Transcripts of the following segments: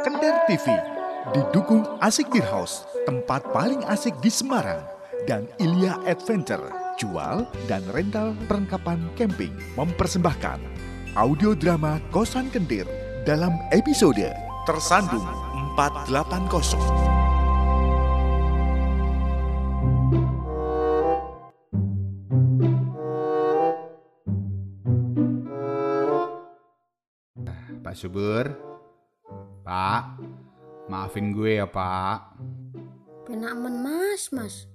Kender TV didukung Asik Beer House, tempat paling asik di Semarang, dan Ilya Adventure, jual dan rental perlengkapan camping, mempersembahkan audio drama Kosan Kendir dalam episode Tersandung 480. Pak Subur, Pak, maafin gue ya Pak. Penak men mas.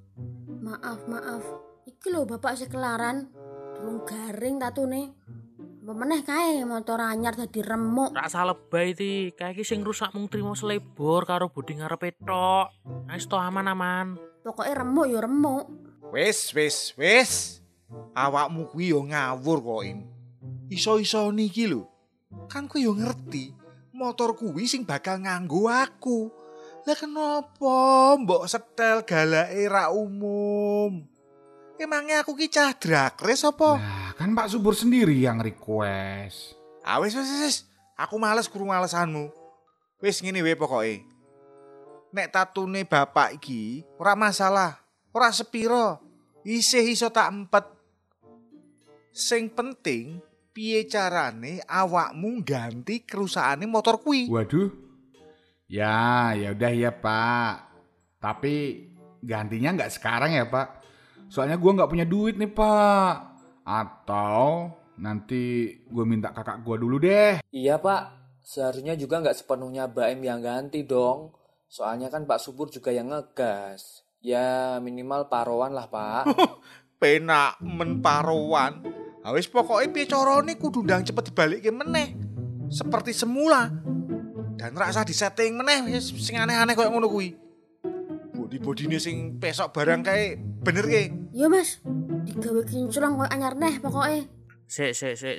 Maaf. Iki lho bapak sekelaran, durung garing tatune. Pemeneh kae motor anyar dadi remuk. Rasa lebay ti, kae iki sing rusak mung trimo selebor karo bodi ngarepe tok. Wis to aman-aman. Pokoke remuk ya remuk. Wis. Awakmu kuwi yo ngawur kok, Im. Iso-iso niki lho. Kan kowe yo ngerti, motor kuwi sing bakal nganggo aku. Lah kenapa mbok setel galake ra umum? Emangnya aku ki cah drakres apa? Nah, kan Pak Subur sendiri yang request. Wis. Aku males guru malesanmu. Wis ngene wae pokoke. Nek tatune bapak iki ora masalah, ora sepiro. Isih iso tak empet. Sing penting piye carane awakmu ganti kerusakane motor kuwi? Waduh. Ya udah ya Pak. Tapi gantinya nggak sekarang ya Pak. Soalnya gue nggak punya duit nih Pak. Atau nanti gue minta kakak gue dulu deh. Iya Pak, seharusnya juga nggak sepenuhnya Baim yang ganti dong. Soalnya kan Pak Subur juga yang ngegas. Ya minimal parowan lah Pak. Penak men parowan. Wis pokoke piye carane kudu ndang cepet dibalikke meneh. Seperti semula. Dan ra usah disetting meneh wis sing aneh-aneh koyo ngono kuwi. Bodi-bodine sing pesok barang kae bener ke? Ya mas, digawe kinclong koyo anyar neh pokoke. Sik.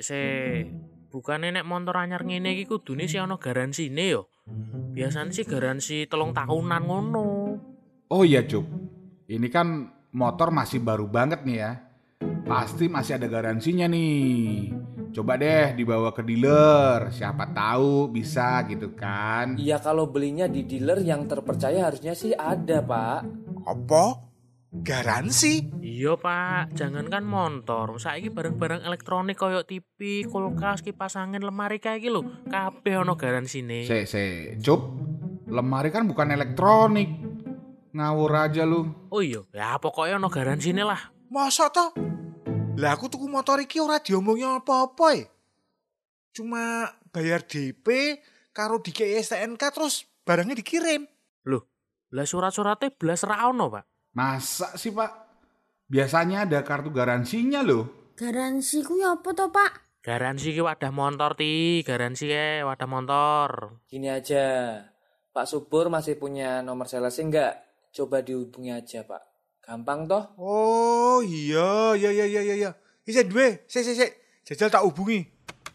Bukane nek motor anyar ngene iki kudune sih ana garansine yo. Biasane sih garansi 3 tahunan ngono. Oh iya Cuk, ini kan motor masih baru banget nih ya. Pasti masih ada garansinya nih. Coba deh dibawa ke dealer, siapa tahu bisa gitu kan. Iya kalau belinya di dealer yang terpercaya harusnya sih ada Pak. Apa? Garansi? Iya Pak, jangankan motor, saiki barang-barang elektronik koyo TV, kulkas, kipas angin, lemari kayak iki lho, kabeh ana garansine. Cup, lemari kan bukan elektronik. Ngawur aja lu. Oh iya, ya pokoknya ana garansine lah. Masa toh? Lah aku tuku motor iki ora diomongi apa-apa ya. Cuma bayar DP karo dikei STNK terus barangnya dikirim. Loh, lah surat-suratnya belas ra ono, Pak. Masa sih Pak? Biasanya ada kartu garansinya loh. Garansi kuwi apa to Pak? Garansi ki wadah motor garansi wadah motor. Gini aja, Pak Subur masih punya nomor salesnya enggak? Coba dihubungi aja Pak. Gampang toh? Oh iya. Isa duwe, sik. Jajal tak hubungi.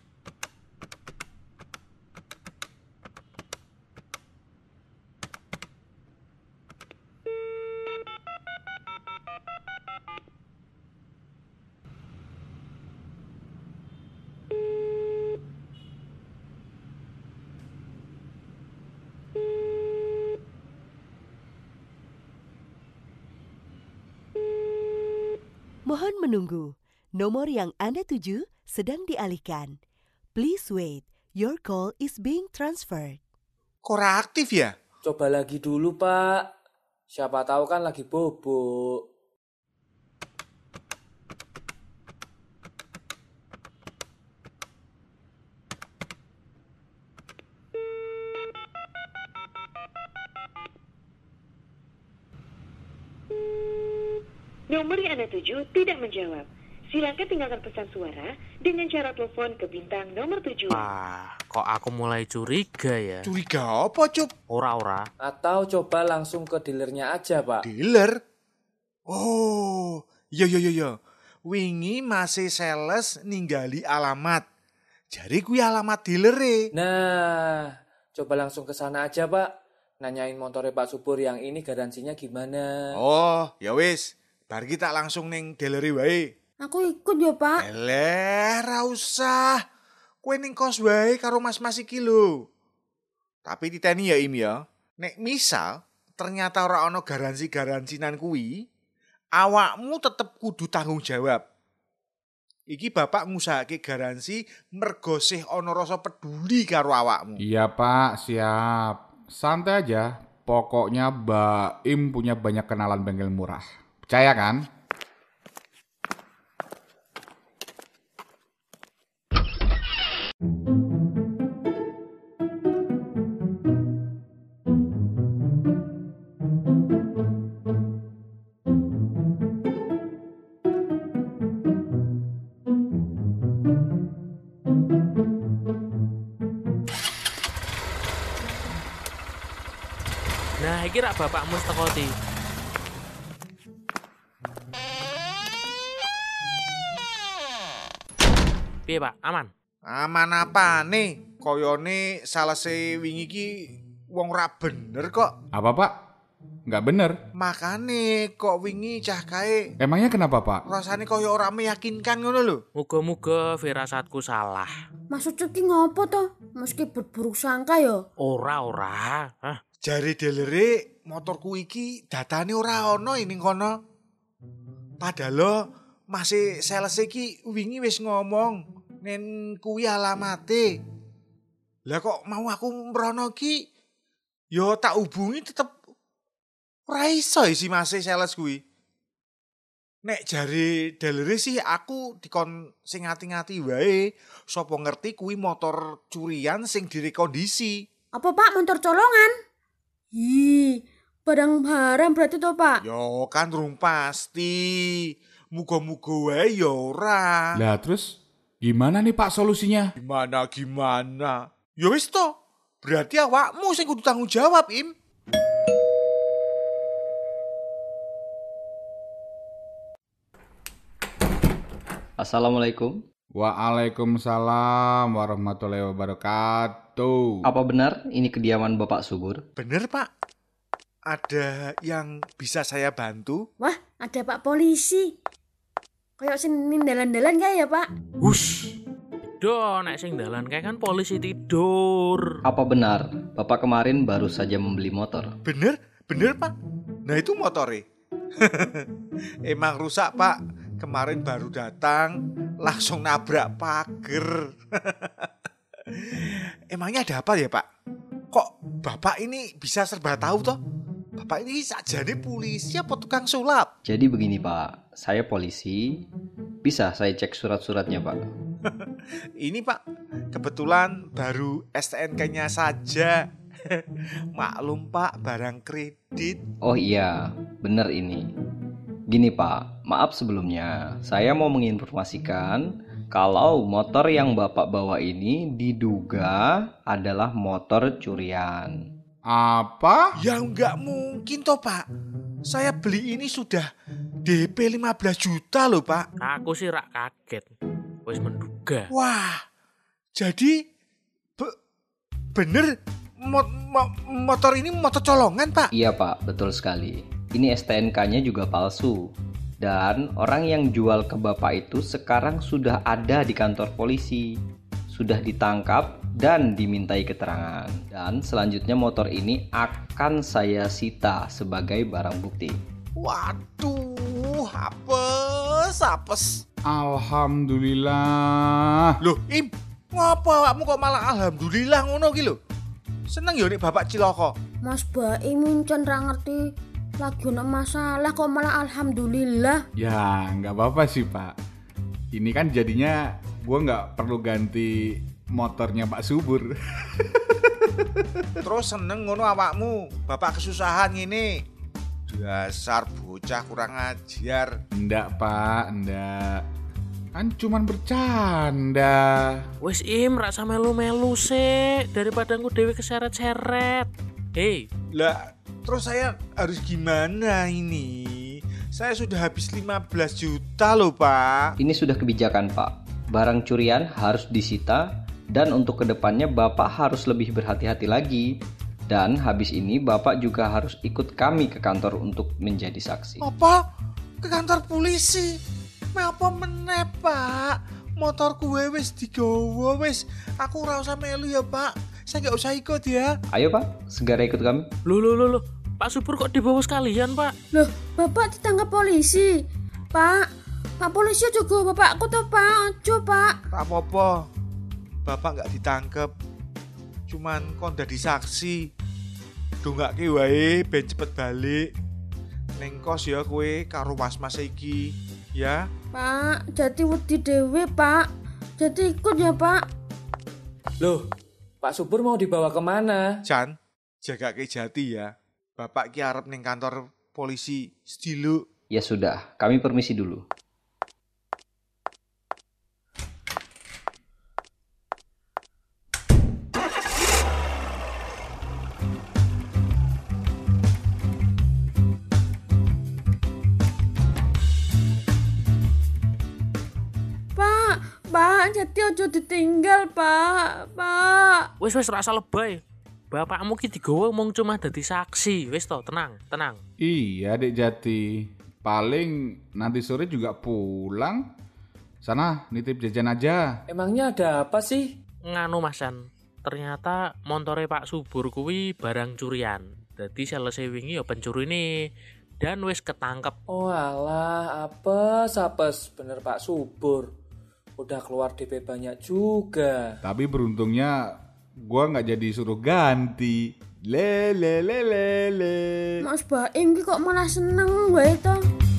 Mohon menunggu. Nomor yang Anda tuju sedang dialihkan. Please wait. Your call is being transferred. Kok ora aktif ya? Coba lagi dulu Pak. Siapa tahu kan lagi bobok. Nomor yang Anda tuju tidak menjawab. Silakan tinggalkan pesan suara dengan cara telepon ke bintang nomor 7. Kok aku mulai curiga ya? Curiga apa, Cup? Ora. Atau coba langsung ke dealernya aja Pak. Dealer? Oh, iya. Wingi masih sales ninggali alamat. Jadi kuwi alamat dealere. Nah, coba langsung ke sana aja Pak. Nanyain motornya Pak Subur yang ini garansinya gimana. Oh, ya wis. Bar kita langsung ning dealeri wae. Aku ikut ya Pak. Ra usah. Kowe ning kos wae karo mas-mas iki lho. Tapi titeni ya Im ya. Nek misal ternyata ora ana garansi-garansinan kuwi, awakmu tetep kudu tanggung jawab. Iki bapak ngusahake garansi mergo sih ana rasa peduli karo awakmu. Iya Pak, siap. Santai aja. Pokoknya Baim punya banyak kenalan bengkel murah. Percaya kan? Nah, iki rak bapakmu teko ti. Piye, Pak? Aman? Aman apa nih? Koyone salese wingi ki wong ora bener kok. Apa Pak? Nggak bener. Makane kok wingi cah kae Emangnya kenapa Pak? rasane koyo ora meyakinkan ngono lho. Muga-muga firasatku salah. Maksudnya ki ngopo to? Meski berburuk sangka ya. Ora. Hah? Jare delere motorku iki datane ora ana ning kono. Padahal masih sales iki wingi wis ngomong nen kuwi alamate. Lah kok mau aku mrono ki yo tak hubungi tetep ora iso isi masih sales kuwi. Nek jare delere sih aku dikon sing ngati-ngati wae, sapa ngerti kuwi motor curian sing direkondisi. Apa Pak motor colongan? Barang-barang berarti to Pak? Yo kan rung pasti. Muga-muga wae ya ora. Lah terus gimana nih Pak solusinya? Gimana? Ya wis to. Berarti awakmu sing kudu tanggung jawab, Im. Assalamualaikum. Waalaikumsalam warahmatullahi wabarakatuh. Apa benar ini kediaman Bapak Subur? Bener, Pak. Ada yang bisa saya bantu? Wah, ada Pak polisi. Kayak sing nindalan-dalan kayak ya Pak? Hush. Do, nek sing dalan kae kan polisi tidur. Apa benar Bapak kemarin baru saja membeli motor? Bener, Pak. Nah itu motore. Emang rusak, Pak. Kemarin baru datang, langsung nabrak pager. Emangnya ada apa ya, Pak? Kok Bapak ini bisa serba tahu toh? Bapak ini sakjane polisi apa tukang sulap? Jadi begini Pak, saya polisi. Bisa saya cek surat-suratnya Pak? Ini Pak, kebetulan baru STNK-nya saja. Maklum Pak, barang kredit. Oh iya, benar ini. Gini Pak, maaf sebelumnya. Saya mau menginformasikan kalau motor yang Bapak bawa ini diduga adalah motor curian. Apa? Ya nggak mungkin toh Pak. Saya beli ini sudah DP 15 juta loh Pak. Aku sih rak kaget. Wis menduga. Wah, jadi bener motor ini motor colongan Pak? Iya Pak, betul sekali. Ini STNK-nya juga palsu. Dan orang yang jual ke Bapak itu sekarang sudah ada di kantor polisi. Sudah ditangkap dan dimintai keterangan. Dan selanjutnya motor ini akan saya sita sebagai barang bukti. Waduh, apes. Alhamdulillah. Loh, Im, ngapa awakmu kok malah alhamdulillah ngono ki lho? Seneng ya nek bapak cilaka. Mas Baim muncen ra ngerti lagi ono masalah kok malah alhamdulillah. Ya nggak apa-apa sih Pak. Ini kan jadinya gue nggak perlu ganti motornya Pak Subur. Terus seneng ngono awakmu, bapak kesusahan ngene. Dasar bocah kurang ajar. Ndak Pak, ndak. Kan cuman bercanda. Wis Im, rak sama melu-melu sih daripada aku dewe keseret-seret. Hei, Lah, terus saya harus gimana ini? Saya sudah habis 15 juta loh Pak. Ini sudah kebijakan Pak. Barang curian harus disita dan untuk kedepannya Bapak harus lebih berhati-hati lagi. Dan habis ini Bapak juga harus ikut kami ke kantor untuk menjadi saksi. Apa? Ke kantor polisi? Apa meneh Pak? Motor gue wis digawa wis. Aku ora usah melu ya Pak. Saya nggak usah ikut ya. Ayo Pak, segera ikut kami. Loh. Pak Subur kok dibawa sekalian, Pak? Loh, Bapak ditangkap polisi. Pak polisi juga bapakku tuh, Pak. Ojo, Pak. Tak apa-apa. Bapak nggak ditangkep. Cuman kon dadi saksi. Dongake wae ben cepet balik. Ning kos ya kowe karo mas-mas iki, ya. Pak, jadi wedi dhewe, Pak. Jadi ikut ya, Pak. Loh, Pak Subur mau dibawa kemana? Jan, jaga ke Jati ya. Bapak ki arep ning kantor polisi Sediluk. Ya sudah, kami permisi dulu. Pak, jadi ojo ditinggal, Pak. Wis rasa lebay. Bapakmu ki digawa mung cuma dadi saksi. Wis to, tenang. Iya, Dek Jati. Paling nanti sore juga pulang. Sana, nitip jajan aja. Emangnya ada apa sih? Nganu Masan, ternyata montore Pak Subur kuwi barang curian. Dadi selesai wingi ya pencuri nih. Dan wis ketangkep. Oh alah, apes. Bener Pak Subur. Udah keluar DP banyak juga. Tapi beruntungnya gua nggak jadi suruh ganti. Le. Mas Baim ki kok malah seneng wae to.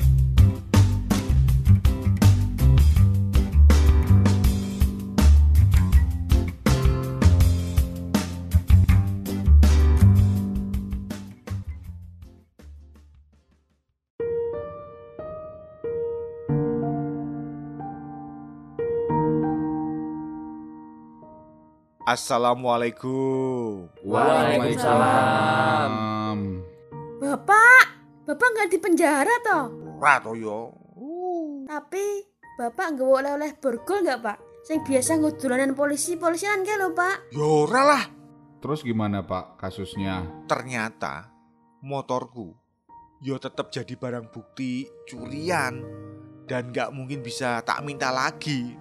Assalamualaikum. Waalaikumsalam. Bapak nggak di penjara toh? Ora to yo. Tapi Bapak nggak oleh-oleh borgol nggak, Pak? Sing biasa ngudulanan polisian ke lho, Pak. Yo ora lah. Terus gimana Pak kasusnya? Ternyata motorku yo tetap jadi barang bukti curian dan nggak mungkin bisa tak minta lagi.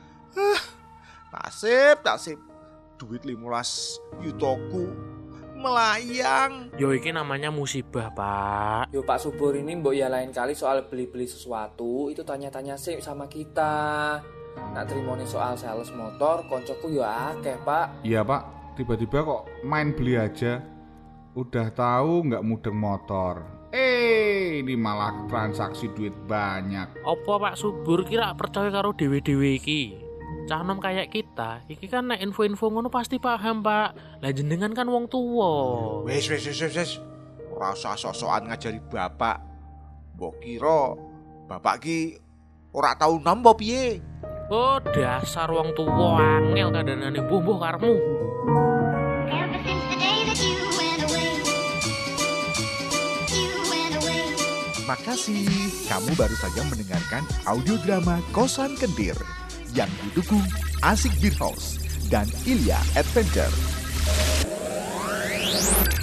Nasib. Duit 15 yutoku melayang. Yo iki namanya musibah, Pak. Yo Pak Subur ini mbok ya lain kali soal beli-beli sesuatu itu tanya-tanya sih sama kita. Nak terimoni soal sales motor koncoku yo akeh, Pak. Iya Pak, tiba-tiba kok main beli aja. Udah tahu nggak mudeng motor. Ini malah transaksi duit banyak. Apa Pak Subur kira percaya karo dewe-dewe iki? Cah nom kayak kita, iki kan nek info-info ngono pasti paham, Pak. Lah jenengan kan wong tuwa. Wes. Ora usah sok-sokan ngajari bapak. Mbok kira bapak ki ora tau nampa piye. Oh, dasar wong tuwa angel kandhanane mbuh karemu. Makasih, kamu baru saja mendengarkan audio drama Kosan Kentir yang didukung Asik Beer House dan Ilya Adventure.